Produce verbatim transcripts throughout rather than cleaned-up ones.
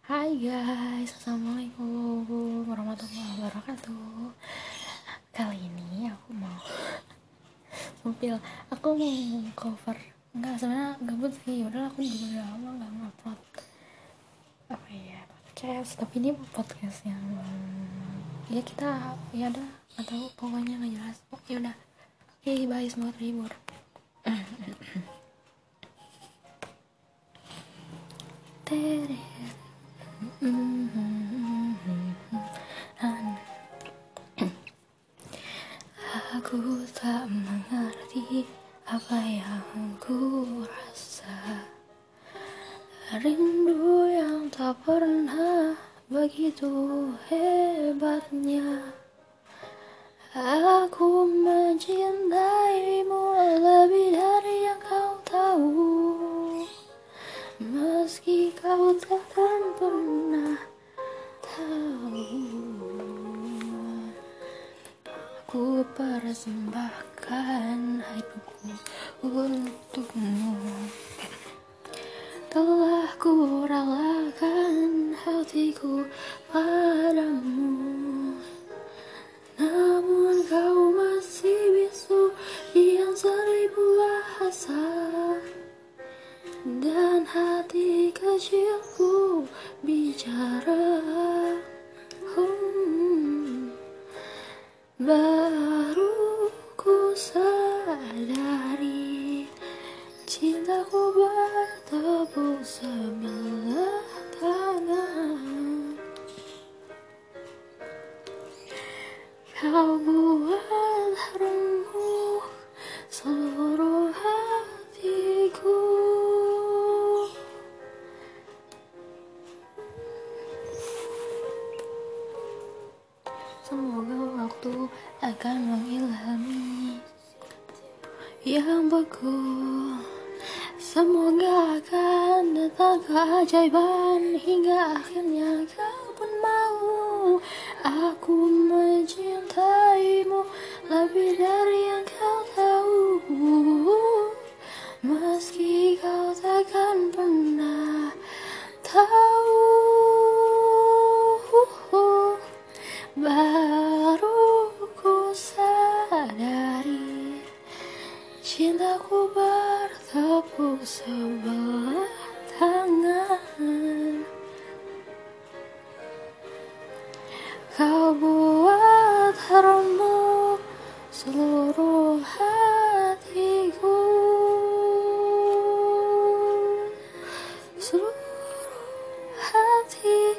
Hai guys, assalamualaikum warahmatullahi wabarakatuh. Kali ini aku mau Sumpil, aku mau cover. Enggak, sebenarnya gabut sih. Udah aku juga udah lama nggak ngupload apa ya podcast. Tapi ini podcast yang ya kita ya udah nggak tahu, pokoknya nggak jelas. Oh, ya udah. Oke, bye, semoga terhibur. Tere. Aku tak mengerti apa yang ku rasa. Rindu yang tak pernah begitu hebatnya. Aku mencintaimu lebih dari yang kau tahu. Meski kau takkan pernah tahu. Ku persembahkan hidupku untukmu. Telah ku relakan hatiku padamu. Namun kau masih bisu dengan seribu bahasa. Dan hati kecilku bicara. Hmm. Baru ku sadari cintaku bertepuk sebelah tangan. Kau buat remuk seluruh hatiku. Semoga waktu akan mengilhami yang beku. Semoga akan datang keajaiban hingga akhirnya kau pun mau. Aku mencintaimu lebih dari yang kau tahu. Meski kau takkan pernah tahu. Baru ku sadari cintaku bertepuk sebelah tangan. Kau buat remuk seluruh hatiku. Seluruh hatiku.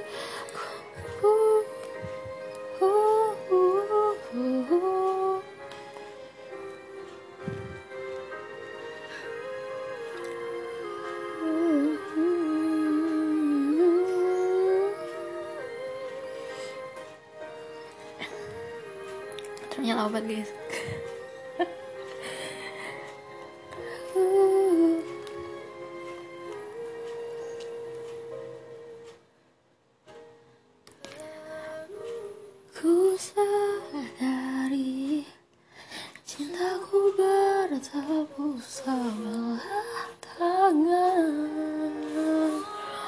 Ternyata obat guys. Ku sadari cintaku bertepuk sebelah tangan.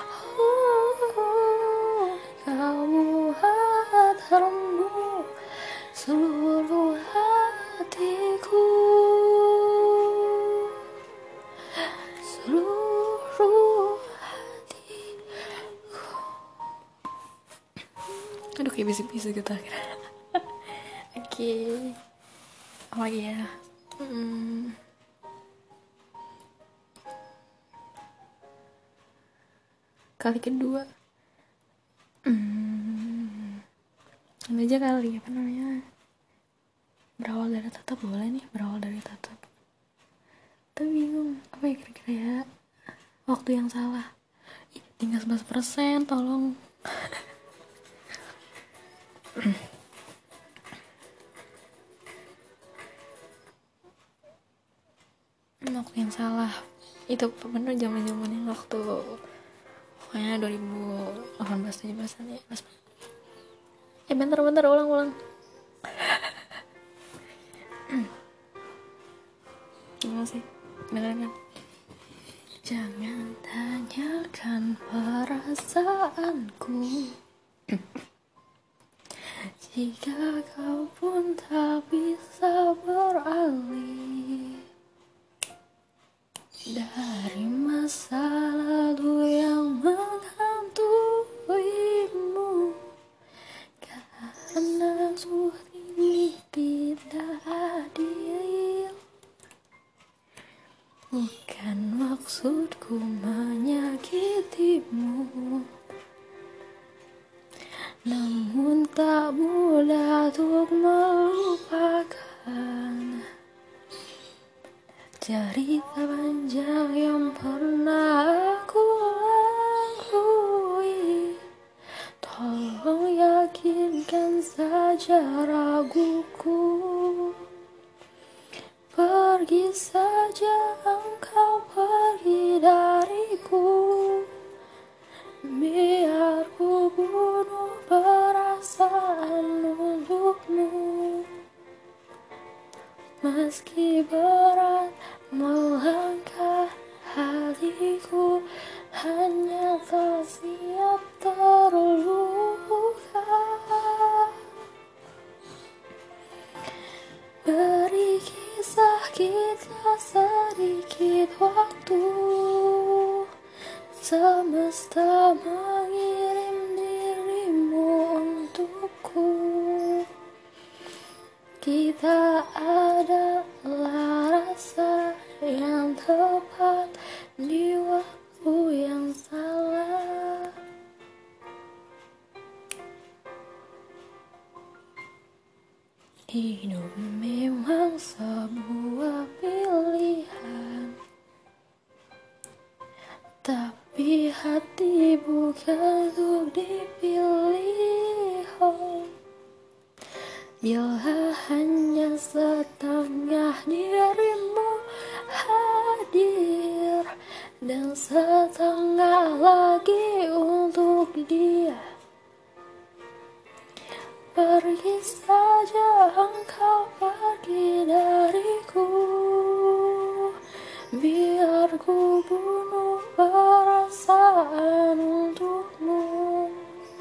Oh, kau buat remuk seluruh hatiku. Seluruh hatiku. Aduh, kayak bisik-bisik gitu akhirnya. Oke, okay. Oh iya, hmm. Kali kedua, hmm. Ini aja kali apa namanya? Berawal dari tatap boleh nih, berawal dari tatap. Tapi bingung apa ya kira-kira ya? Waktu yang salah. Ih, tinggal sebelas persen, tolong. Waktu yang salah itu bener zaman-zaman yang waktu pokoknya dua ribu delapan belas tujuh belas ya. Eh bentar-bentar ulang-ulang. Gimana sih? Dengerin kan? Jangan tanyakan perasaanku jika kau pun tak bisa beralih dari masa lalu yang menghantuimu, karena sungguh ini tidak adil. Bukan maksudku menyakitimu, namun tak mudah untuk melupakan cerita panjang yang pernah aku lalui. Tolong yakinkan saja raguku. Pergi saja engkau, pergi dariku. Biar ku bunuh perasaan untukmu. Meski berat melangkah hatiku, hanya tak siap terluka. Beri kisah kita sedikit waktu. Semesta mengirim dirimu untukku. Kita adalah rasa yang tepat di waktu yang salah. Hidup memang sebuah pilihan, tapi hati bukan untuk dipilih. Oh, bila hanya setengah dirimu hadir dan setengah lagi untuk dia, pergi saja engkau, pergi dariku. Biar ku bunuh perasaan untukmu.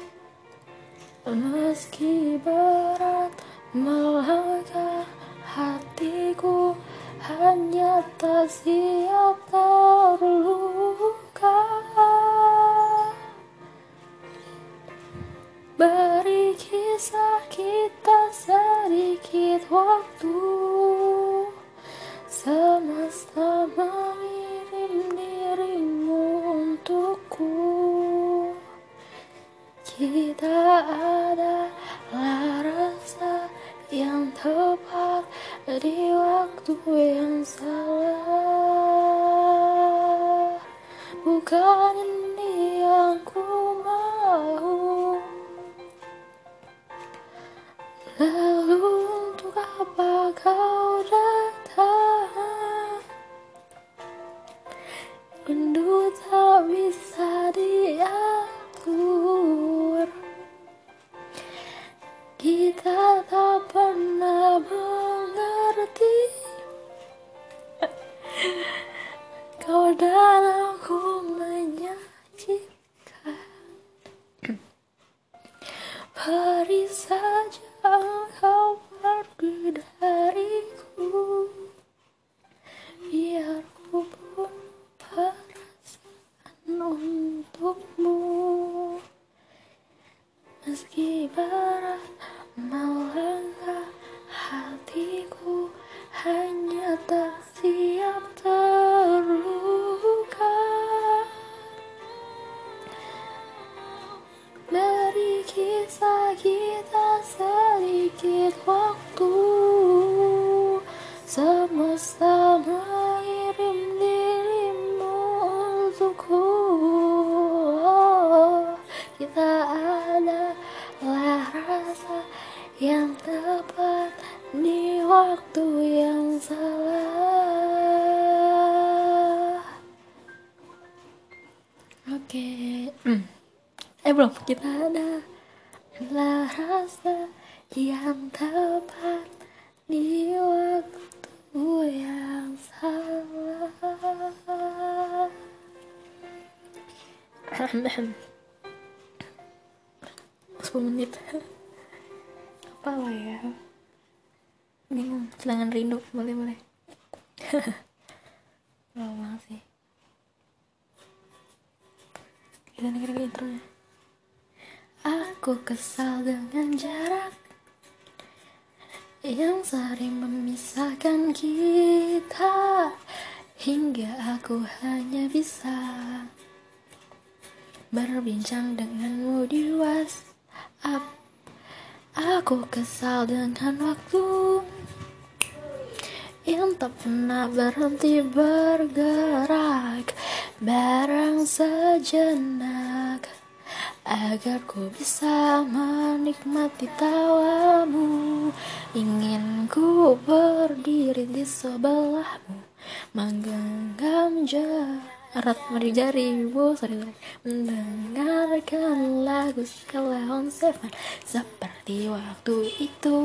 Meski berat melangkah hatiku, hanya tak siap terluka. Beri kisah kita sedikit waktu. Semesta mengirim dirimu untukku. Kita adalah rasa yang tepat di waktu yang salah. Bukan ini yang ku mau. Lalu untuk apa kau datang? Rindu tak bisa diatur. Kita tak pernah mengerti. Kau dan aku menyajikan. Pergi saja engkau, pergi dariku. Biar ku bunuh perasaan untukmu. Meski berat melangkah hatiku, hanya tak siap terluka. Beri kisah kita sedikit waktu. Semesta mengirim dirimu untukku. Kita adalah rasa yang tepat di waktu yang salah. Oke. Eh belum, kita adalah rasa yang tepat di waktu yang salah. sepuluh menit apa lah ya, bingung. Sedangkan rindu, boleh boleh. Lama banget sih. Kita dengerin intronya. Aku kesal dengan jarak yang sering memisahkan kita, hingga aku hanya bisa berbincang denganmu di WhatsApp. Aku kesal dengan waktu yang tak pernah berhenti bergerak, barang sejenak, agar ku bisa menikmati tawamu. Ingin ku berdiri di sebelahmu, menggenggam erat mari jarimu, sorry, sorry, mendengarkan lagu Sheila Seven seperti waktu itu,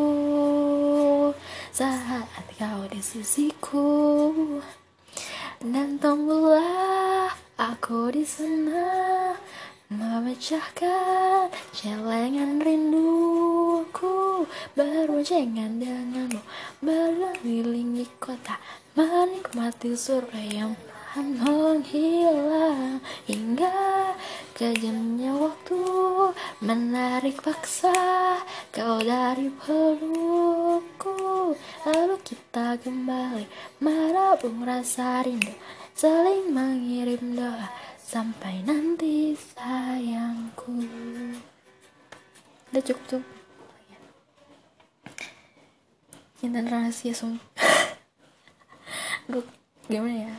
saat kau di sisiku, dan tembulah aku di sana, memecahkan celengan rinduku, berboncengan denganmu, berkeliling kota, menikmati surga yang perlahan menghilang, hingga kejamnya waktu menarik paksa kau dari pelukku, lalu kita kembali menabung rasa rindu, saling mengirim doa sampai nanti sayangku. Udah cukup cukup. Cinta rahasia sumpah. Gue gimana ya?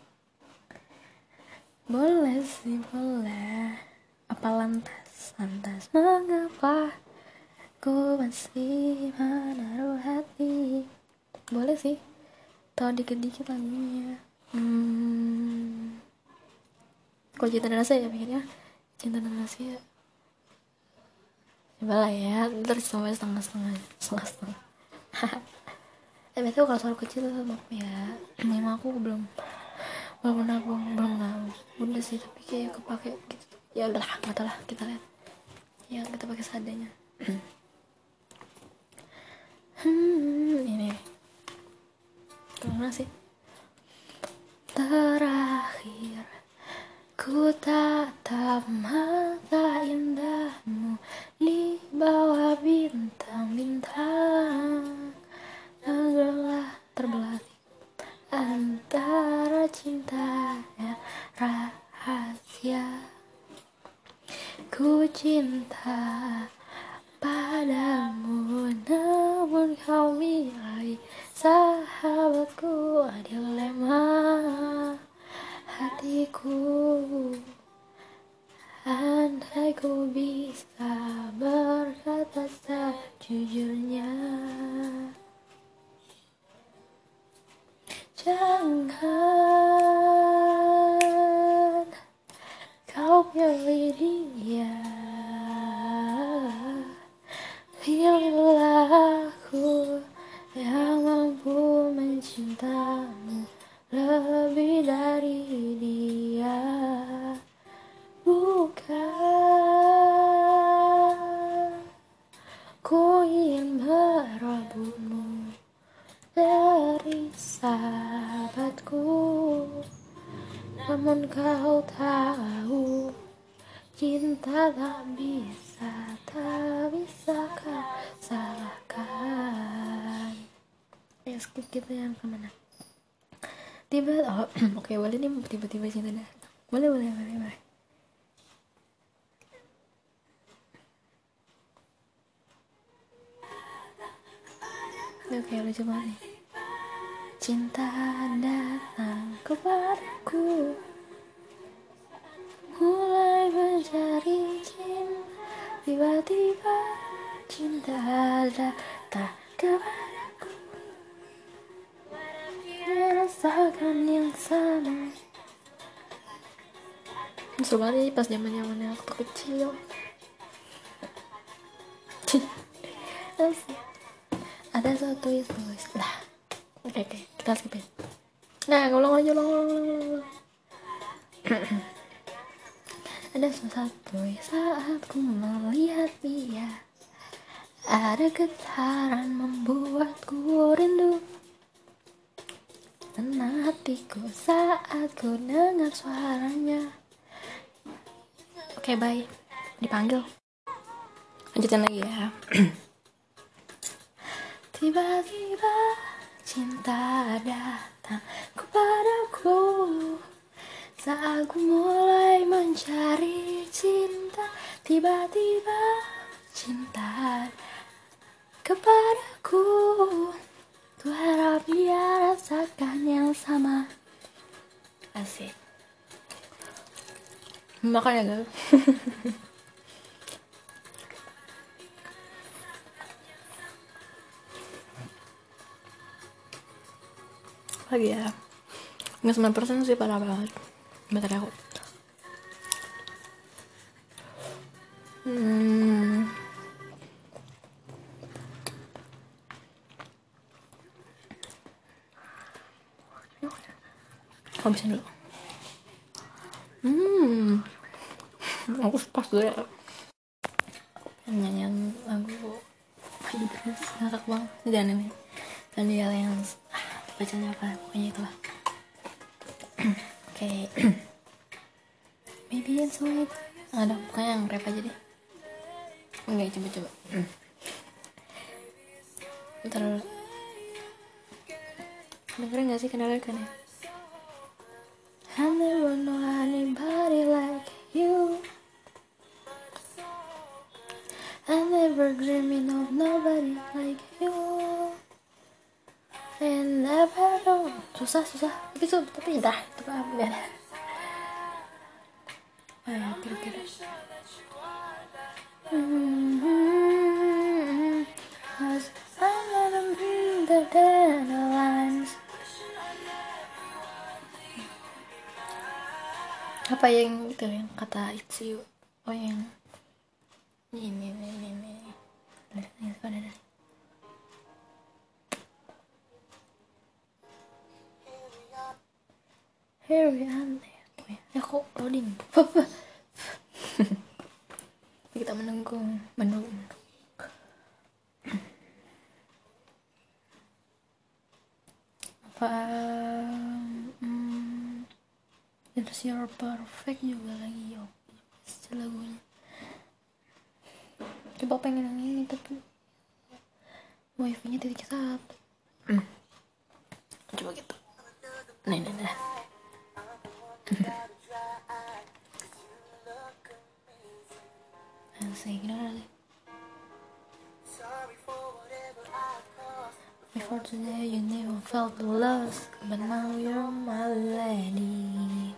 Boleh sih boleh. Apa lantas lantas mengapa ku masih menaruh hati? Boleh sih. Tahu dikit-dikit lagunya. Hmm. Kalau cinta dan rasa ya pikirnya cinta dan rasa ya. Coba lah ya, ntar sampai setengah-setengah setengah-setengah. Eh betul kalau suara kecil maaf ya, memang aku belum belum nabung belum nabung udah sih, tapi kayak kepake gitu. Ya udahlah, nggak tahu lah, kita lihat ya, kita pakai seadanya. hmm ini kemana sih? Terakhir ku tatap mata indahmu di bawah bintang-bintang, terbelah terbelah antara cinta dan rahasia. Ku cinta padamu, namun kau milih sahabatku, dilema hatiku. Andai ku bisa berkata sejujurnya, jangan kau pilih dia, pilihlah aku yang mampu mencintamu lebih dari dia. Bukan ku ingin merebutmu dari sahabatku, namun kau tahu cinta tak bisa, tak bisa kau salahkan. Ya skip kita yang kemana? Tiba, oh oke okay, boleh nih, tiba-tiba cinta dah. Boleh boleh boleh boleh. Oke okay, lucu banget nih. Cinta datang kepadaku, mulai mencari cinta, tiba-tiba cinta datang kepadaku, merasakan yang sama. Seru banget pas zaman-zamannya waktu kecil. Ada satu itu lah. Oke oke, kita skipin. Nah, ngulang aja, ulang ulang ulang. Ada sesuatu saat ku melihat dia, ada getaran membuatku rindu. Tenang hatiku saat ku dengar suaranya. Oke, bye. Dipanggil. Lanjutin lagi ya. Tiba-tiba cinta datang kepadaku saat ku mulai mencari cinta. Tiba-tiba cinta kepadaku, ku harap dia rasakan yang sama. Asik. Makan ya guys. Lagi ya, nggak sembilan persen sih, parah banget. Bentar ya aku. Hmm. Habisin dulu. Hmm. Aku pas dulu ya. Nyanyian lagu Idris ngakak banget. Jangan ini. Dan dia yang ah, bacanya apa? Pokoknya itulah. Oke. Okay. Maybe it's sweet. Ada pokoknya yang rap aja deh. Enggak, coba-coba. Ntar dengerin gak sih kenalan kan ya? I never know anybody like you. I never dreaming of nobody like you. And never know. Susah susah. Tapi tuh tapi dah itu apa biar. Ayo kira-kira. Mm-hmm. Cause I never been the deadlines. Apa yang itu yang kata it's you? Oh yang ini ini ini ini. Ini pada dari. Here we are. Oh ya, kok loading. Kita menunggu, menunggu. Apa? Hmm, It's Your Perfect juga lagi yo. Lagunya. Coba pengen yang ini tapi wifi-nya titik satu. Hmm. Coba gitu. Nah ini dah. Asik lagi. Before today you never felt the loss, but now you're my lady.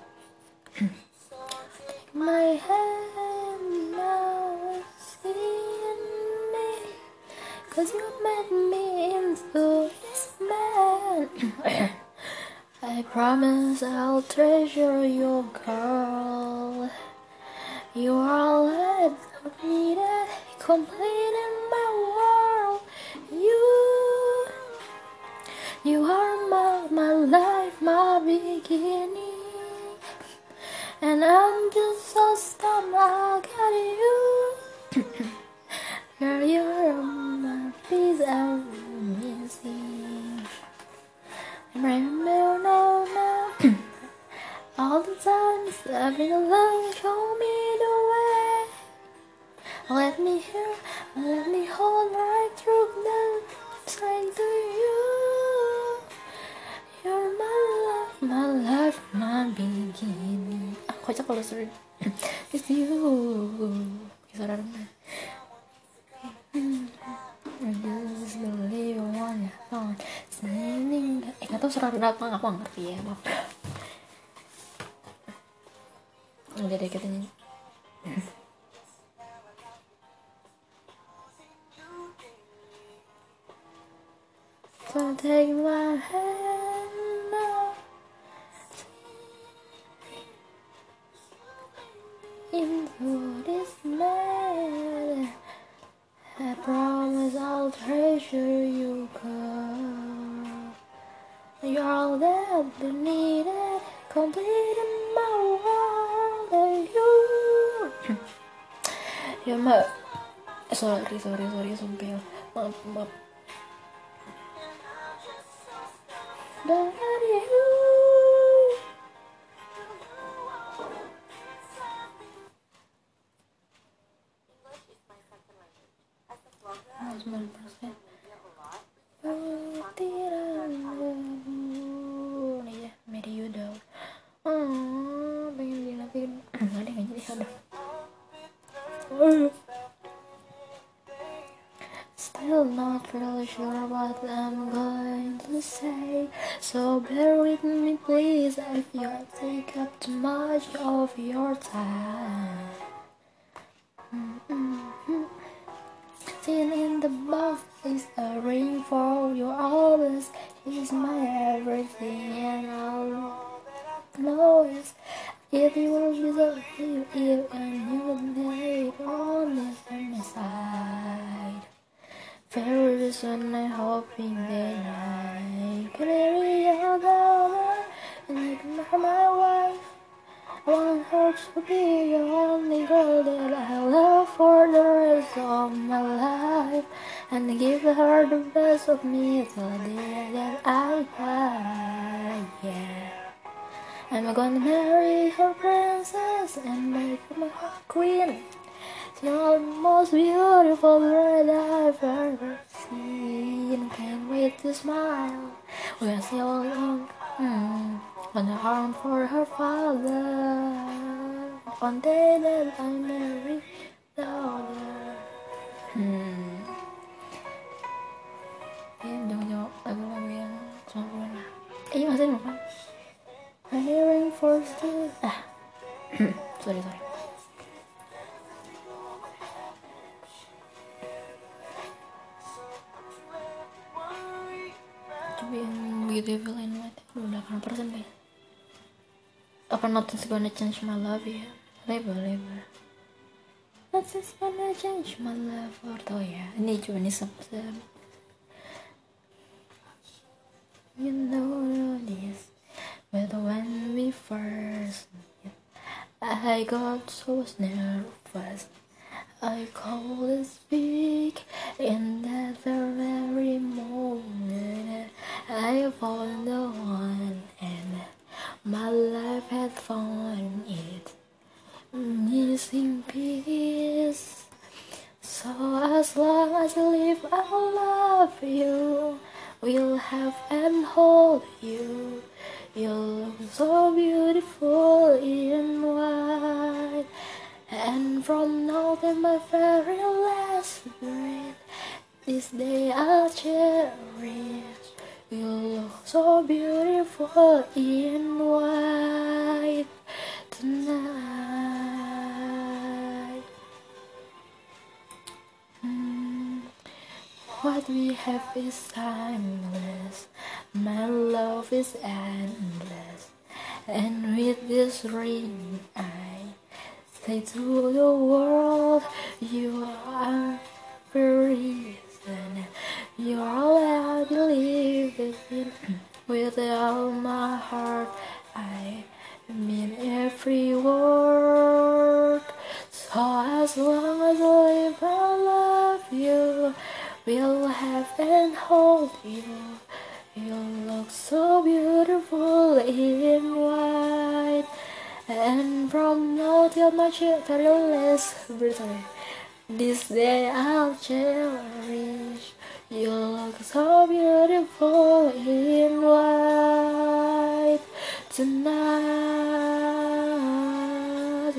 My hand now seeing me, cause you made me into this man. I promise I'll treasure your girl. You are all I've needed, complete in my world. You, you are my, my life, my beginning. And I'm just so stunned I got you. Girl, you're my piece I'm missing. Remember now, now. All the times I've been alone, show me the way. Let me hear, let me hold right through the strength to you. You're my life, my life, my beginning. Ah, kocak kalau suruh. It's you. Suara rendah. I just believe you want ya phone. Singing. Eh, gak tau suara rendah apa, aku gak ngerti ya, maaf. Udah deh katanya. So take my hand now. Into this man, I promise I'll treasure you, girl. You're all that I needed, complete in my world, and you, Ya mbak, sorry sorry sorry sumpil, maaf maaf. Dari you. sembilan persen butiran nih ya Mary udah oh pengen dilatih nggak deh nggak jadi udah. Still not really sure what I'm going to say, so bear with me please if you take up too much of your time. Mm-hmm. Sitting in the box is a ring for you always. He's my everything and all know is if you will be so you if and you will be on this on my side. Very soon I'm hoping that I can marry you down and you can become my wife. I want her to be the only girl that I love for the rest of my life, and give her the best of me till the day that I die. Yeah, I'm gonna marry her princess and make her my queen. She's the most beautiful girl I've ever seen. Can't wait to smile when she's all young. Mm. On the arm for her father. One day that I marry daughter. Hmm. Ini jauh-jauh lagu-lagu yang sembilan puluhan lah. Eh, iya masih lupa. Hearing for still. Ah. sorry sorry. Coba yang Beautiful in White delapan persen deh. Apa Nothing's Gonna Change My Love ya? Label label. Nothing's gonna change my love for oh ya. Ini coba nih sub sub. You know this, but when we first met, I got so nervous. I couldn't speak in that very moment. I found the one, and my life had found it. Missing piece. So as long as I live, I'll love you. We'll have and hold you. You look so beautiful in white. And from now to my very last breath, this day I'll cherish. You look so beautiful in white tonight. Mm. What we have is timeless. My love is endless. And with this ring I say to the world, you are the reason. You're all I believe in. With all my heart I mean every word. So as long as I live, I love you. We'll have and hold you. You look so beautiful in white. And from now till my very last birthday, this day I'll cherish. You look so beautiful in white tonight.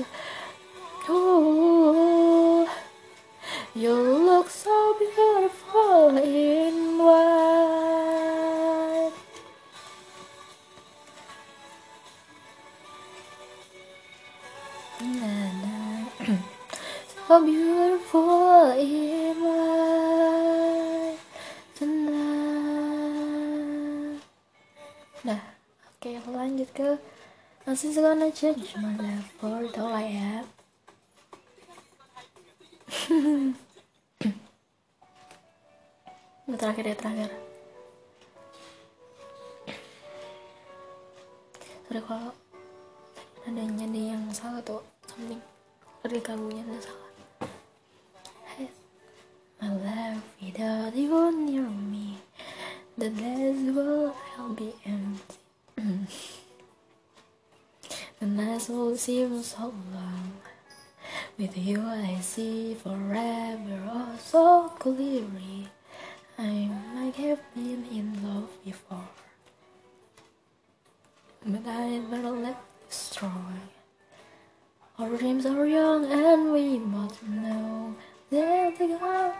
Ooh, you look so beautiful in white. So beautiful in white tonight. Nah, oke okay, lanjut ke Nothing's Gonna Change My Love for tau lah ya. Ini terakhir ya terakhir. Sorry kalau nadanya ada yang salah tuh something dari lagunya ada salah. my life without you near me. The days will be empty. The nights will seem so long. With you I see forever oh so clearly. I might have been in love before, but I never let destroy. Our dreams are young and we both know that they go.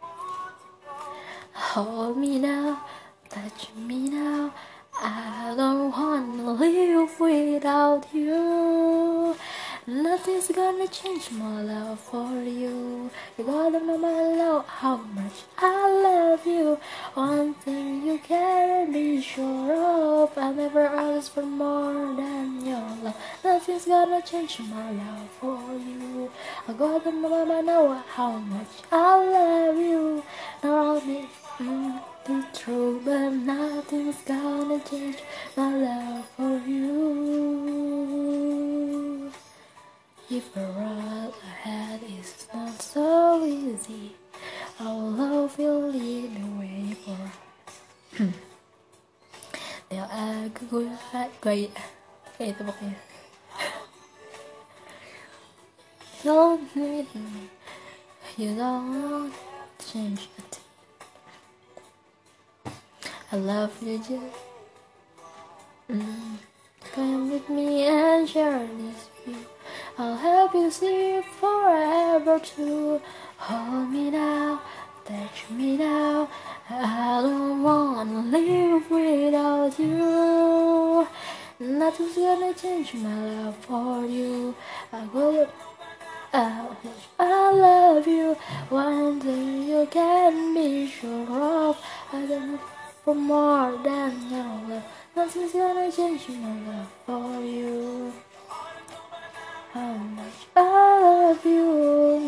Hold me now, touch me now. I don't wanna live without you. Nothing's gonna change my love for you. You gotta know my love, how much I love you. One thing you can be sure of, I'll never ask for more than your love. Nothing's gonna change my love for you. I gotta know how much I love you. Not only mm, the truth, but nothing's gonna change my love for you. If the road ahead is not so easy, our love will lead the way for us. Nếu ai cứ gue gue kayak itu pokoknya. Don't need me, you don't change a thing. I love you just mm. Come with me and share this view. I'll help you see forever too. Hold me now, touch me now. I don't wanna live without you. Nothing's gonna change my love for you. I will uh, I love you. One thing you can be sure of, I don't know for more than your love. Nothing's gonna change my love for you. How much I love you.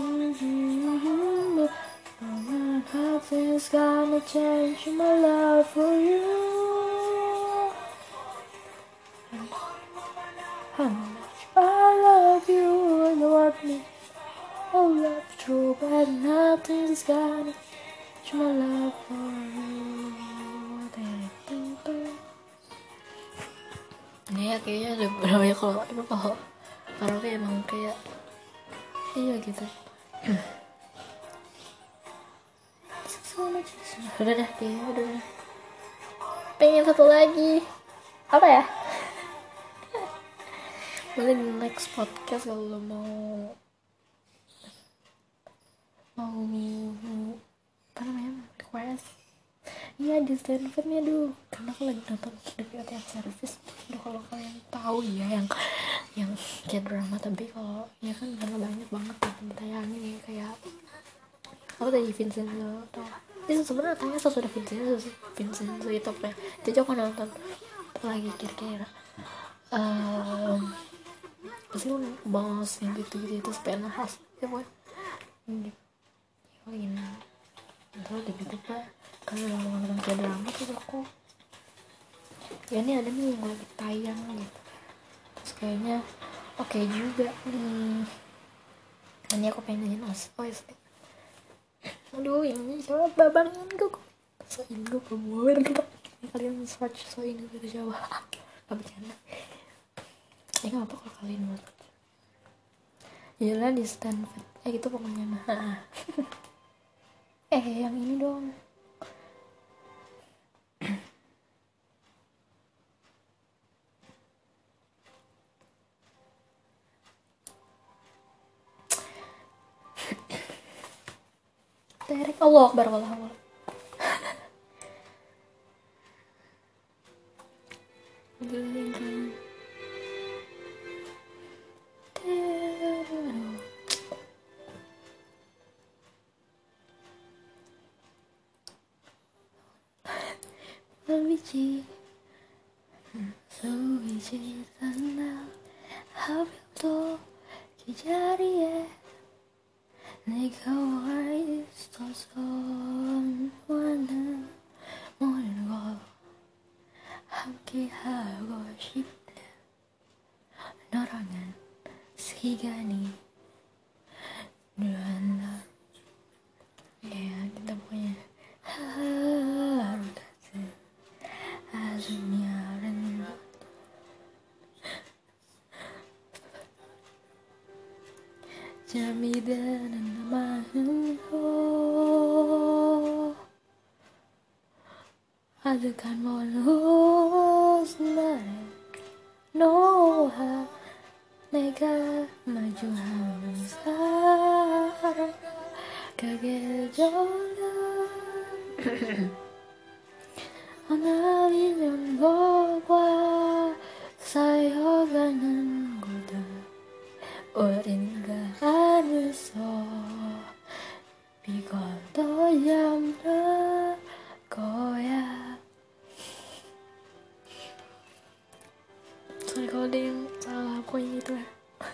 Nothing's gonna change my love for you. How much I love you. You want me. Oh, love true, but nothing's gonna change my love for you. Ini ya kayaknya udah berapa ya kalau emang kalau karaoke emang kayak iya gitu. Udah dah kayaknya udah dah. Pengen satu lagi apa ya? Boleh di next podcast kalau lo mau mau apa namanya request. Iya di Stanford nih aduh, karena aku lagi nonton The Beauty and Service. Aduh kalau kalian tahu ya yang yang kayak drama, tapi kalau ya kan karena banyak banget yang ditayangin ya kayak aku tadi Vincenzo atau itu sebenarnya tanya sesudah Vincenzo sih Vincenzo itu apa ya, jadi aku nonton lagi kira-kira um, pasti aku bahas yang gitu-gitu itu supaya nahas ya boy ini lagi nonton terus di YouTube lah karena kalau nonton kayak drama tuh aku ya ini ada nih yang lagi tayang gitu terus kayaknya oke okay juga nih ini aku pengen nyanyiin os os aduh ini siapa bang Indo so Indo kemudian kalian search so Indo dari Jawa gak bercanda ya gak apa kalau kalian mau yalah di Stanford eh gitu pokoknya nah eh yang ini dong Terek Allah Akbar wallah Allah Luigi Luigi sana 하루도 기다리에 내가 와 있어서 원하는 모든 걸 함께 하고 싶대 너라는 시간이 늘어나 yeah. جميدا ما هو adukan monhusna noha nega maju hamsar kagejola Analiyon gogwa sayoganan goda oringa hanuso bigoto yamra koya. Sorry kalau ada yang salah aku yang itu ya.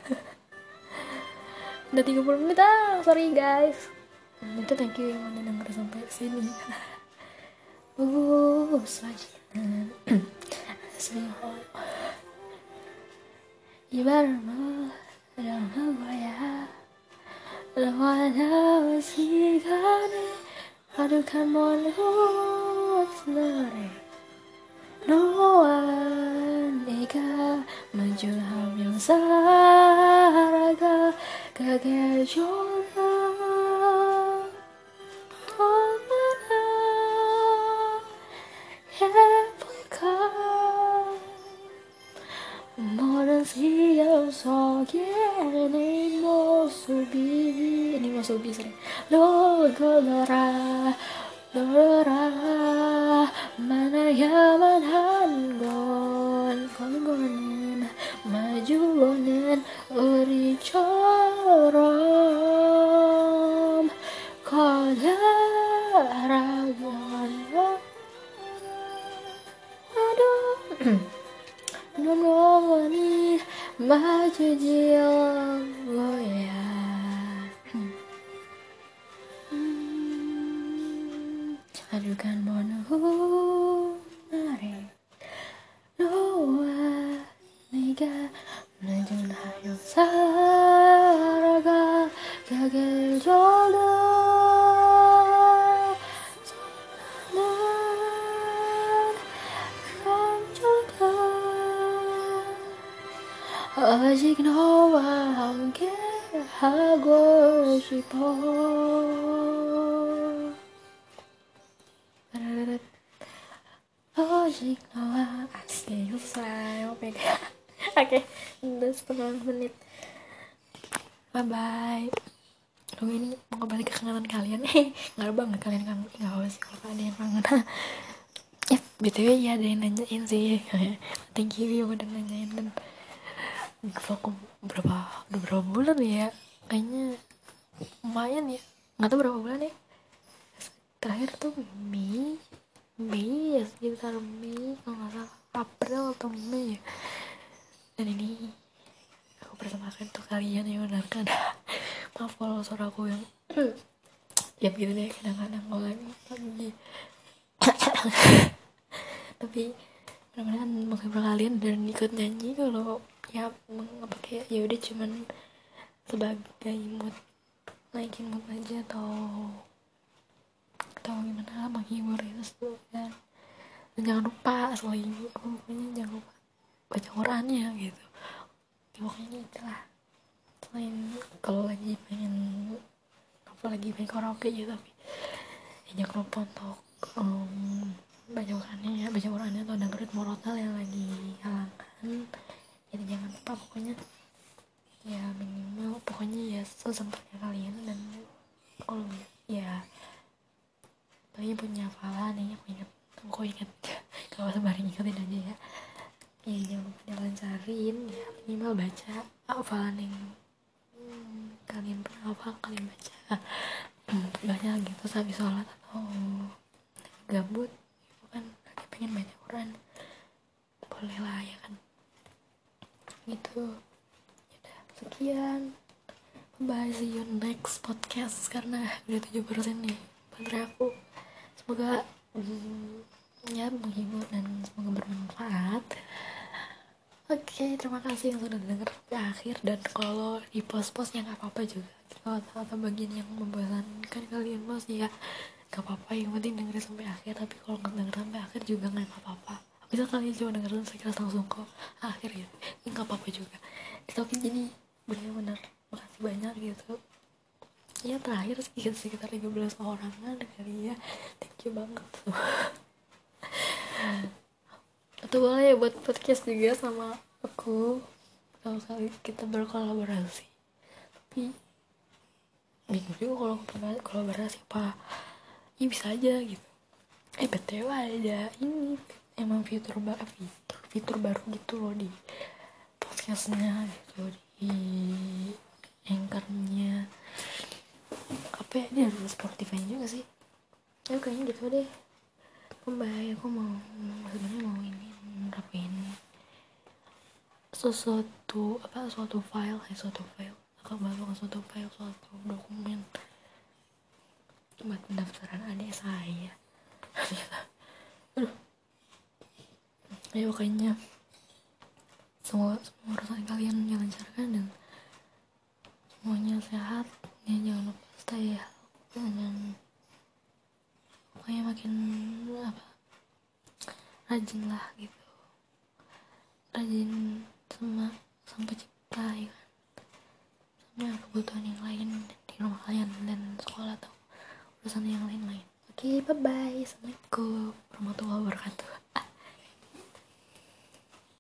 Udah tiga puluh menit ah, sorry guys. Itu thank you yang udah denger sampai sini. Uh, sajinan Asmihol Ibarma Ramagaya Lawana Wasigane Adukan monhut nare Noan Ega Majulham yang saraga Kagejola Siang sogen ini mau subi ini mau subi sering lo golora golora mana yaman hangon kongonen majuonen uri corom kolaragon aduh Nonwani maju jiang goya adukan monhu nare noa niga najun hayo saraga kagejola 아직 너와 함께 하고 싶어. 아직 너와 asik selesai oke oke udah setengah menit bye bye. Lu ini mau kembali ke kangenan kalian nih nggak banget kalian kangen nggak apa sih kalau ada yang kangen ya btw ya ada yang nanyain sih thank you yang udah nanyain dan vlog berapa udah berapa bulan ya kayaknya lumayan ya nggak tahu berapa bulan ya terakhir tuh Mei Mei ya sekitar Mei kalau nggak salah April atau Mei ya. Dan ini aku persembahkan untuk kalian yang mendengarkan maaf kalau suara aku yang ya gitu deh kadang-kadang kalau lagi lagi tapi mudah-mudahan menghibur kalian dan ikut nyanyi kalau ya apa kayak ya udah cuman sebagai mood naikin mood aja atau atau gimana menghibur itu tuh kan. Dan jangan lupa selain apa pokoknya jangan lupa baca Qurannya gitu ya, pokoknya itulah selain kalau lagi pengen apa lagi pengen karaoke gitu tapi ya jangan lupa untuk um, baca Qurannya ya baca Qurannya atau dengerin murotal yang lagi halangan. Jadi jangan lupa pokoknya ya minimal pokoknya ya sesempatnya kalian dan kalau ya paling punya hafalan nih aku ingat aku ingat kalau sebaring ingetin aja ya ya jangan lupa dilancarin ya minimal baca hafalan yang hmm, kalian pernah hafal kalian baca banyak gitu habis sholat atau gabut kan lagi pengen baca Quran boleh lah ya kan gitu. Yaudah, sekian bye, see you next podcast karena udah tujuh persen nih baterai aku. Semoga mm, ya menghibur dan semoga bermanfaat. Oke, okay, terima kasih yang sudah dengar sampai akhir. Dan kalau di post-post ya gak apa-apa juga kalau atau bagian yang membosankan kalian post ya gak apa-apa, yang penting dengerin sampai akhir. Tapi kalau gak denger sampai akhir juga gak apa-apa. Bisa kalian cuma dengerin sekilas langsung kok akhir gitu ya gak apa-apa juga. Tapi jadi benar-benar makasih banyak gitu ya. Terakhir sekitar sekitar tiga belas orangan kali ya, thank you banget. Atau boleh ya buat podcast juga sama aku kalau kali kita berkolaborasi, tapi bingung juga kalau kolaborasi apa ya, bisa aja gitu. Eh btw ada ini emang fitur baru, fitur fitur baru gitu loh di podcastnya gitu, di anchornya apa ya, dia ada Spotify juga sih ya, kayaknya gitu deh. Bye, aku mau sebenarnya mau ini nerapin sesuatu apa suatu file kayak suatu file aku baru ke suatu file suatu dokumen buat pendaftaran adik saya. Aduh, ayo kayaknya semua semua urusan kalian dilancarkan dan semuanya sehat ya, jangan lupa stay healthy dan pokoknya makin apa rajin lah gitu, rajin sama sang pencipta ya kan, sama kebutuhan yang lain di rumah kalian dan sekolah atau urusan yang lain-lain. Oke, bye bye, assalamualaikum warahmatullahi wabarakatuh.